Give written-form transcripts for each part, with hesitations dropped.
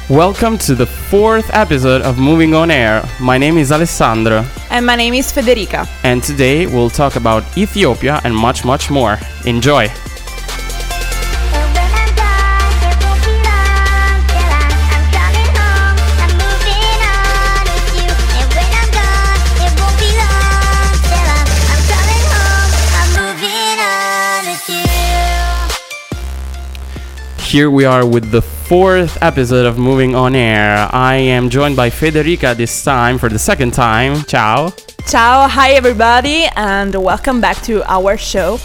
Welcome to the fourth episode of Moving on Air. My name is Alessandro. And my name is Federica. And today we'll talk about Ethiopia and much, much more. Enjoy! Here we are with the fourth episode of Moving on Air. I am joined by Federica this time for the second time. Ciao. Ciao, hi everybody, and welcome back to our show.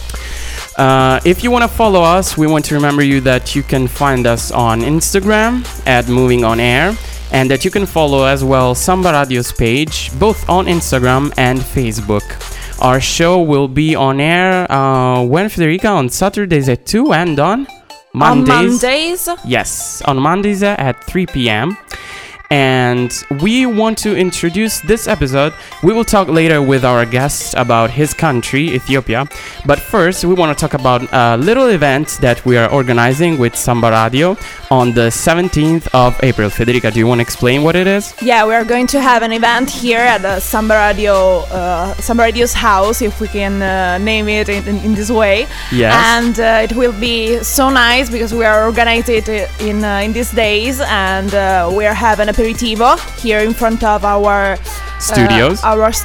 If you want to follow us, we want to remember you that you can find us on Instagram at Moving on Air, and that you can follow as well Samba Radio's page, both on Instagram and Facebook. Our show will be on air when, Federica? On Saturdays at 2 and on Mondays? Yes, on Mondays at 3 p.m. And we want to introduce this episode. We will talk later with our guest about his country, Ethiopia. But first, we want to talk about a little event that we are organizing with Samba Radio on the 17th of April. Federica, do you want to explain what it is? Yeah, we are going to have an event here at the Samba Radio's house, if we can name it in this way. Yes. And it will be so nice because we are organizing it in these days, and we are having a aperitivo here in front of our studios,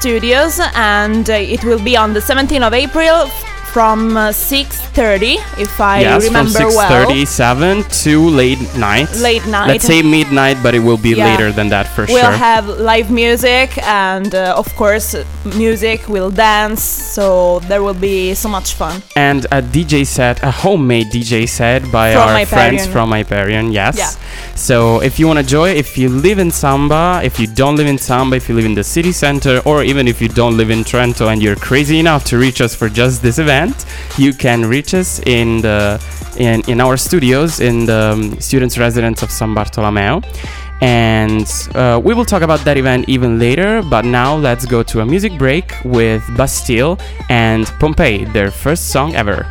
and it will be on the 17th of April from 6:30, if I remember well. Yes, from 6:37 to late night. Let's say midnight, but it will be later than that for sure. We'll have live music, and of course, music, we'll dance, so there will be so much fun. And a DJ set, a homemade DJ set by our friends from Hyperion, yes. Yeah. So if you want to join, if you live in Samba, if you don't live in Samba, if you live in the city center, or even if you don't live in Trento and you're crazy enough to reach us for just this event, you can reach us in our studios in the students' residence of San Bartolomeo. And we will talk about that event even later, but now let's go to a music break with Bastille and Pompeii, their first song ever.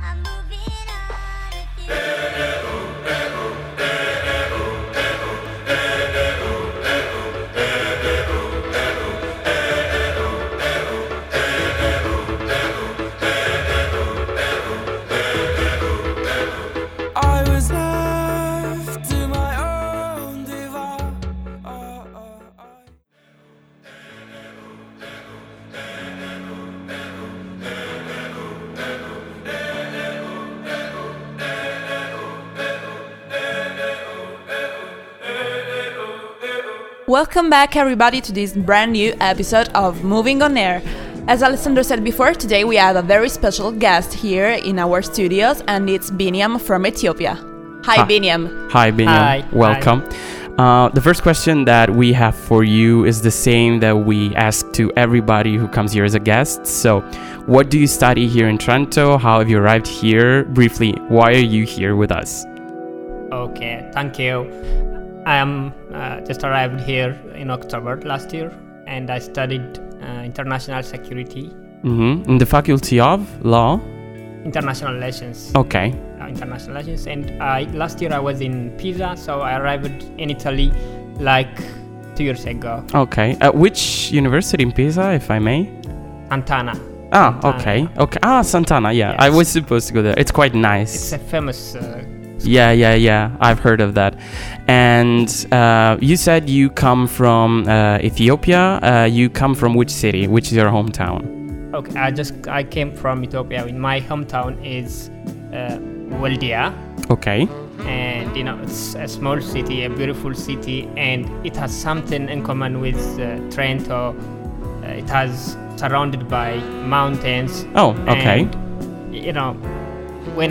Welcome back everybody to this brand new episode of Moving on Air. As Alessandro said before, today we have a very special guest here in our studios, and it's Biniam from Ethiopia. Hi Biniam. Hi Biniam. Hi. Welcome. The first question that we have for you is the same that we ask to everybody who comes here as a guest. So, what do you study here in Trento? How have you arrived here? Briefly, why are you here with us? Okay, thank you. I am just arrived here in October last year, and I studied international security. Mm-hmm. In the Faculty of Law? International Relations. Okay. International Relations. And last year I was in Pisa, so I arrived in Italy like 2 years ago. Okay. At which university in Pisa, if I may? Sant'Anna. Ah, okay. Sant'Anna, yeah. Yes. I was supposed to go there. It's quite nice. It's a famous... Yeah. I've heard of that. And you said you come from Ethiopia. You come from which city? Which is your hometown? Okay, I came from Ethiopia. My hometown is Waldia. Okay. And it's a small city, a beautiful city, and it has something in common with Trento. It has surrounded by mountains. Oh, okay. And, when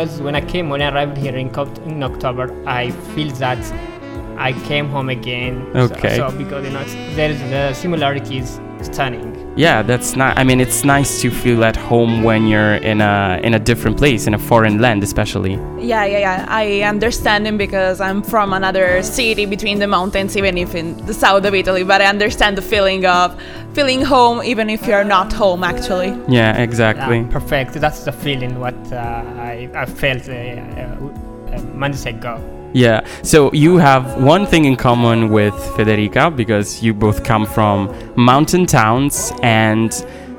I arrived here in October, I feel that I came home again. Okay. So because there's the similarities stunning. Yeah, that's nice. I mean, it's nice to feel at home when you're in a different place, in a foreign land, especially. Yeah. I understand him because I'm from another city between the mountains, even if in the south of Italy. But I understand the feeling of feeling home, even if you're not home, actually. Yeah, exactly. Perfect. That's the feeling what I felt months ago. Yeah. So you have one thing in common with Federica, because you both come from mountain towns, and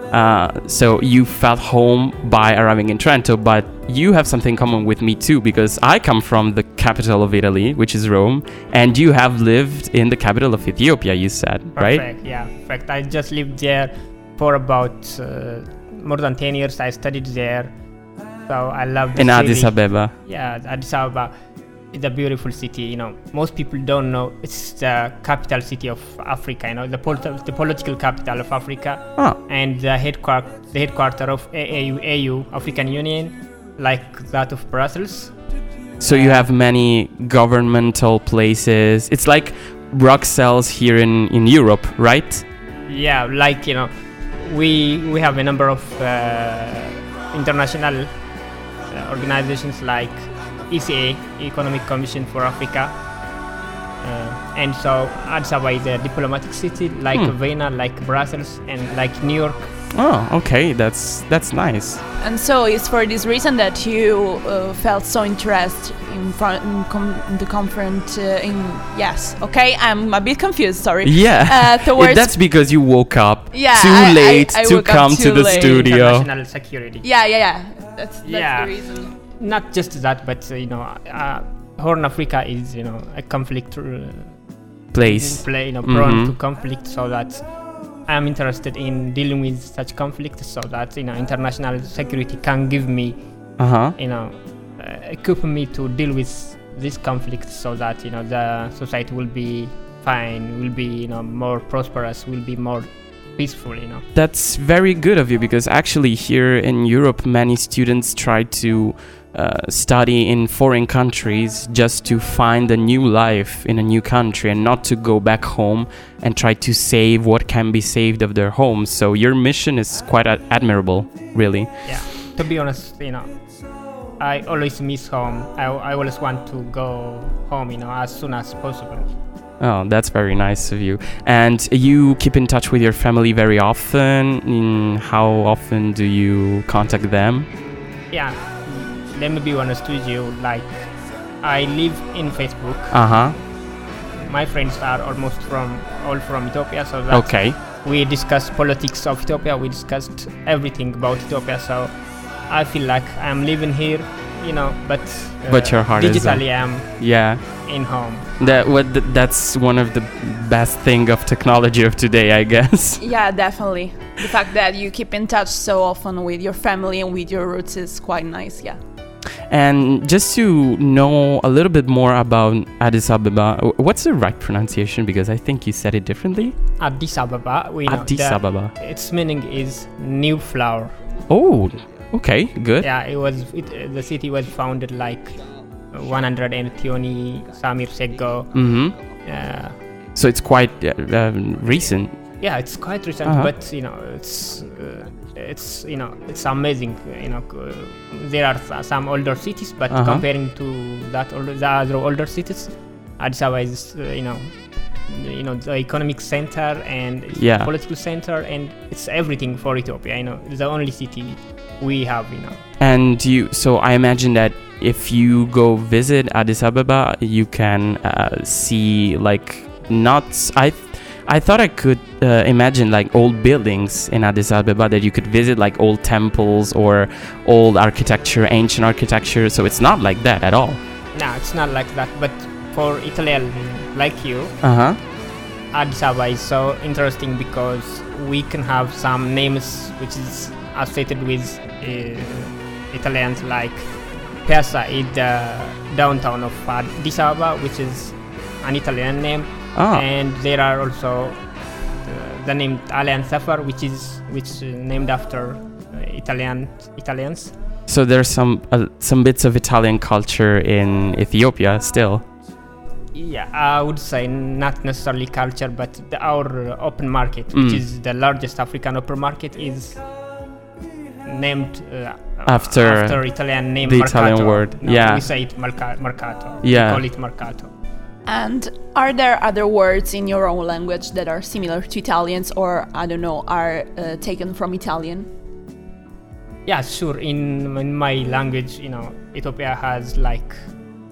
so you felt home by arriving in Trento. But you have something in common with me too, because I come from the capital of Italy, which is Rome, and you have lived in the capital of Ethiopia, you said, right? Perfect, yeah. Perfect. I just lived there for about more than 10 years. I studied there. So I love the in city. Addis Ababa. Yeah, Addis Ababa. It's a beautiful city. You know, most people don't know it's the capital city of Africa. You know, the political capital of Africa, and the headquarter of AU, African Union, like that of Brussels. So you have many governmental places. It's like Bruxelles here in Europe, right? Yeah, like, you know, we have a number of international organizations like ECA, Economic Commission for Africa, and so Addis Ababa is a diplomatic city like Vienna, like Brussels, and like New York. Oh, okay, that's nice. And so it's for this reason that you felt so interested in the conference. Yes, okay, I'm a bit confused. Sorry. Yeah, that's because you woke up too late to come to the studio. International security. Yeah. That's the reason. Not just that, but you know, Horn Africa is, you know, a conflict place. Prone to conflict, so that I'm interested in dealing with such conflicts, so that, you know, international security can give me, you know, equip me to deal with this conflict, so that, you know, the society will be fine, will be, you know, more prosperous, will be more peaceful, you know. That's very good of you, because actually here in Europe, many students try to study in foreign countries just to find a new life in a new country, and not to go back home and try to save what can be saved of their homes. So your mission is quite admirable, really. Yeah, to be honest, you know, I always miss home. I always want to go home, you know, as soon as possible. Oh, that's very nice of you. And you keep in touch with your family very often? How often do you contact them? Yeah, let me be honest with you. Like, I live in Facebook. My friends are almost all from Ethiopia, so that we discuss politics of Ethiopia. We discussed everything about Ethiopia. So I feel like I'm living here, you know, but your heart digitally is I'm in home. That's one of the best thing of technology of today, I guess. Yeah, definitely. The fact that you keep in touch so often with your family and with your roots is quite nice. Yeah. And just to know a little bit more about Addis Ababa, what's the right pronunciation? Because I think you said it differently. Addis Ababa. Addis Ababa. Its meaning is new flower. Oh, okay, good. Yeah, the city was founded like 120 some years ago. So it's quite recent. Yeah, it's quite recent, but you know, it's you know, it's amazing. You know, there are some older cities, but comparing to the other older cities, Addis Ababa is you know, the economic center and political center, and it's everything for Ethiopia. You know, it's the only city we have. You know. And so I imagine that if you go visit Addis Ababa, you can see like I thought I could imagine like old buildings in Addis Ababa, that you could visit, like old temples or old architecture, ancient architecture. So it's not like that at all. No, it's not like that. But for Italian like you, Addis Ababa is so interesting because we can have some names which is associated with Italians, like Piazza is the downtown of Addis Ababa, which is an Italian name. And there are also the name Alain Safar, which is named after Italians. So there's some bits of Italian culture in Ethiopia still. Yeah, I would say not necessarily culture, but our open market, which is the largest African open market, is named after Italian name. The Mercato. Italian word. No, we say it Mercato. Yeah. We call it Mercato. And are there other words in your own language that are similar to Italians, or I don't know, are taken from Italian? Yeah, sure. In my language, you know, Ethiopia has like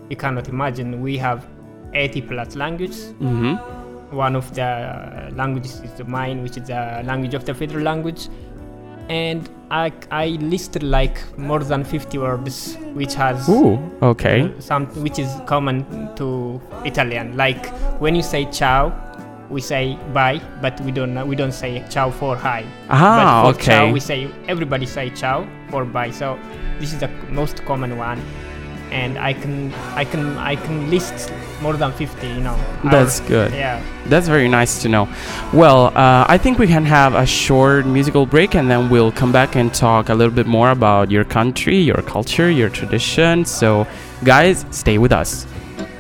you cannot imagine. We have 80 plus languages. One of the languages is mine, which is the language of the federal language. And I listed like more than 50 words, which has some which is common to Italian. Like when you say ciao, we say bye, but we don't say ciao for hi. But for ciao, everybody say ciao for bye. So this is the most common one, and I can list more than 50. That's good. Yeah, that's very nice to know. Well, I think we can have a short musical break, and then we'll come back and talk a little bit more about your country, your culture, your tradition. So, guys, stay with us.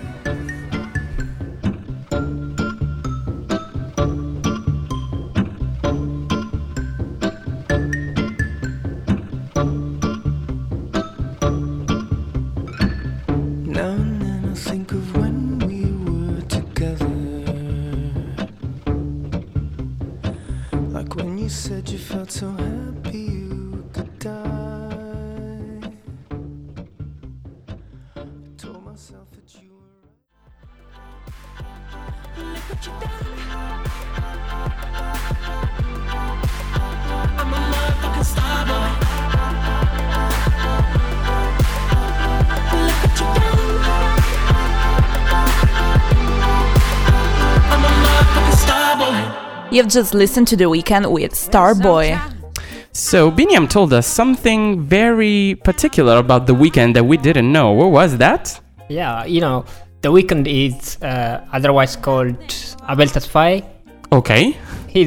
You've just listened to The Weeknd with Starboy. So, Binyam told us something very particular about The Weeknd that we didn't know. What was that? Yeah, The Weeknd is otherwise called Abel Tesfaye. Okay.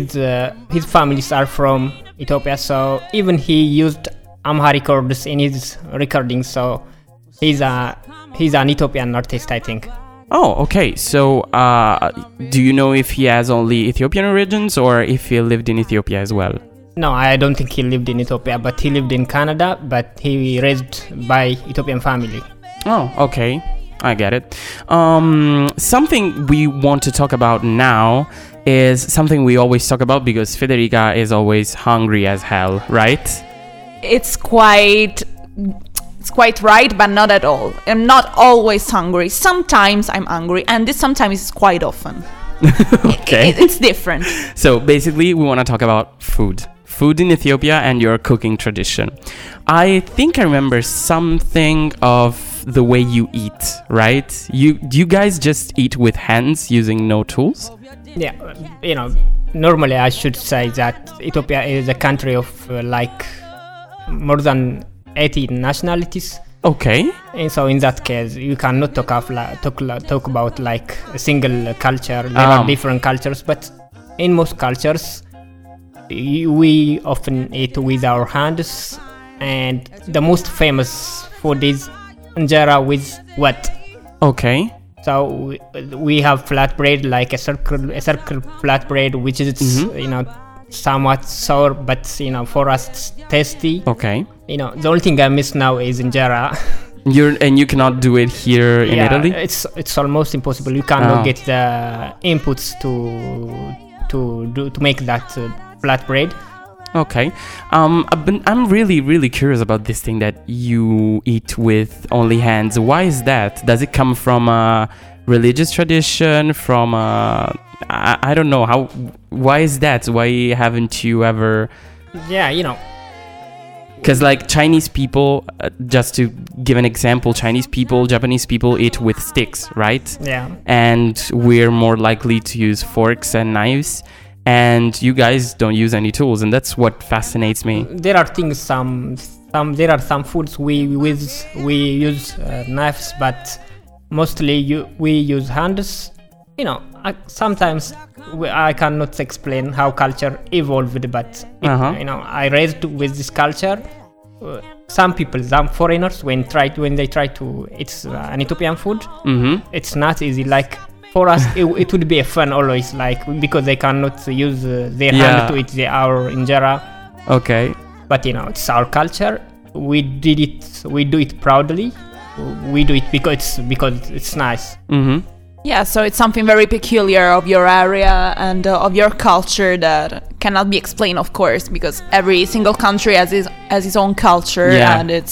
His families are from Ethiopia, so even he used Amharic words in his recording, so he's an Ethiopian artist, I think. Oh, okay. So, do you know if he has only Ethiopian origins or if he lived in Ethiopia as well? No, I don't think he lived in Ethiopia, but he lived in Canada, but he raised by Ethiopian family. Oh, okay. I get it. Something we want to talk about now is something we always talk about because Federica is always hungry as hell, right? It's quite right, but not at all. I'm not always hungry. Sometimes I'm hungry, and this sometimes is quite often. Okay. It's different. So basically, we want to talk about food. Food in Ethiopia and your cooking tradition. I think I remember something of the way you eat, right? Do you guys just eat with hands using no tools? Yeah, normally I should say that Ethiopia is a country of more than 80 nationalities. Okay. And so in that case, you cannot talk about like a single culture. There are different cultures, but in most cultures, we often eat with our hands, and the most famous food is injera with wheat. Okay. So we have flatbread, like a circle flatbread, which is somewhat sour, but for us it's tasty. Okay. The only thing I miss now is injera. You cannot do it here in Italy? It's almost impossible. You cannot get the inputs to make that flatbread. Okay. I'm really, really curious about this thing that you eat with only hands. Why is that? Does it come from a religious tradition? From I don't know how. Why is that? Why haven't you ever? Yeah, Because like Chinese people, just to give an example, Chinese people, Japanese people eat with sticks, right? Yeah. And we're more likely to use forks and knives. And you guys don't use any tools, and that's what fascinates me. There are things, there are some foods we use knives, but mostly we use hands. Sometimes I cannot explain how culture evolved, but I raised with this culture. Some people, some foreigners, when they try to eat an Ethiopian food, it's not easy. Like for us, it would be a fun always, because they cannot use their hand to eat our injera. Okay. But it's our culture. We do it proudly. We do it because it's nice. Mm-hmm. Yeah, so it's something very peculiar of your area and of your culture that cannot be explained, of course, because every single country has its own culture, and it's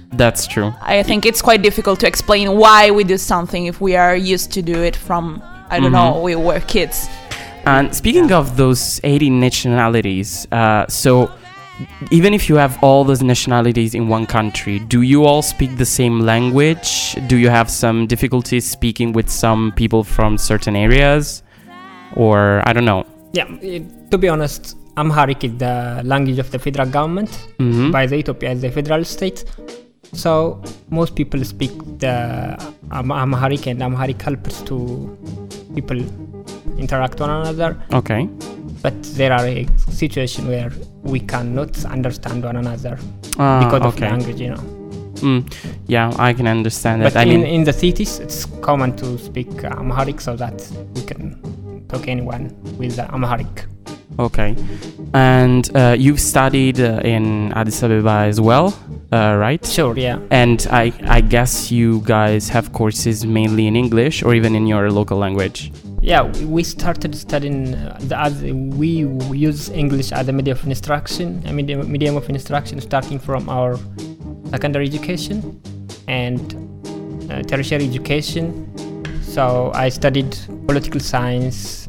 That's true. I think it's quite difficult to explain why we do something if we are used to do it from, I don't know, we were kids. And speaking of those 80 nationalities, so even if you have all those nationalities in one country, do you all speak the same language? Do you have some difficulties speaking with some people from certain areas? Or, I don't know. Yeah, to be honest, Amharic is the language of the federal government by the Ethiopia as a federal state. So most people speak the Amharic, and Amharic helps to people interact one another. Okay. But there are a situation where we cannot understand one another because of language, you know. Yeah, I can understand that. But in the cities, it's common to speak Amharic so that we can talk anyone with Amharic. Okay. And you've studied in Addis Ababa as well, right? Sure, yeah. And I guess you guys have courses mainly in English or even in your local language. Yeah, we started studying, we use English as a medium of instruction, starting from our secondary education and tertiary education. So I studied political science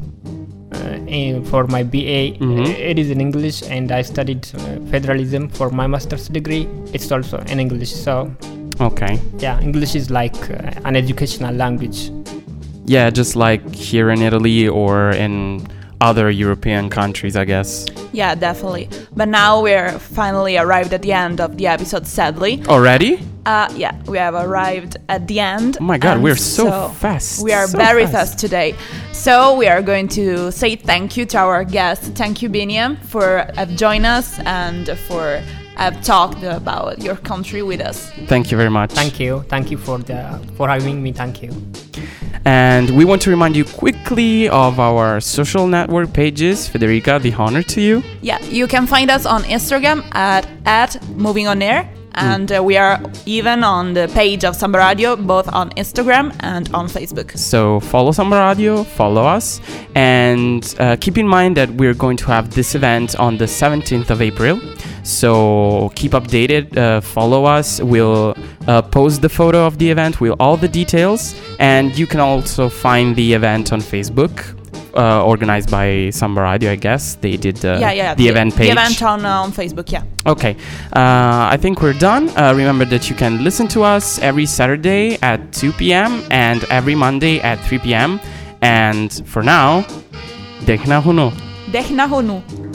for my BA. It is in English, and I studied federalism for my master's degree. It's also in English. So, okay. Yeah, English is like an educational language. Yeah, just like here in Italy or in other European countries, I guess. Yeah, definitely. But now we're finally arrived at the end of the episode, sadly. Already? Yeah, we have arrived at the end. Oh my God, we're so fast. We are very fast today. So we are going to say thank you to our guest. Thank you, Biniam, for joining us and for have talked about your country with us. Thank you very much. Thank you for having me. Thank you. And we want to remind you quickly of our social network pages. Federica, the honor to you. Yeah, you can find us on Instagram at Moving On Air. And we are even on the page of Samba Radio, both on Instagram and on Facebook. So follow Samba Radio, follow us, and keep in mind that we're going to have this event on the 17th of April. So keep updated, follow us. We'll post the photo of the event with all the details, and you can also find the event on Facebook. Organized by Samba Radio, I guess. They did the event page. The event on Facebook, yeah. Okay. I think we're done. Remember that you can listen to us every Saturday at 2 p.m. and every Monday at 3 p.m. And for now, Dehna Hunu. Dehna Hunu.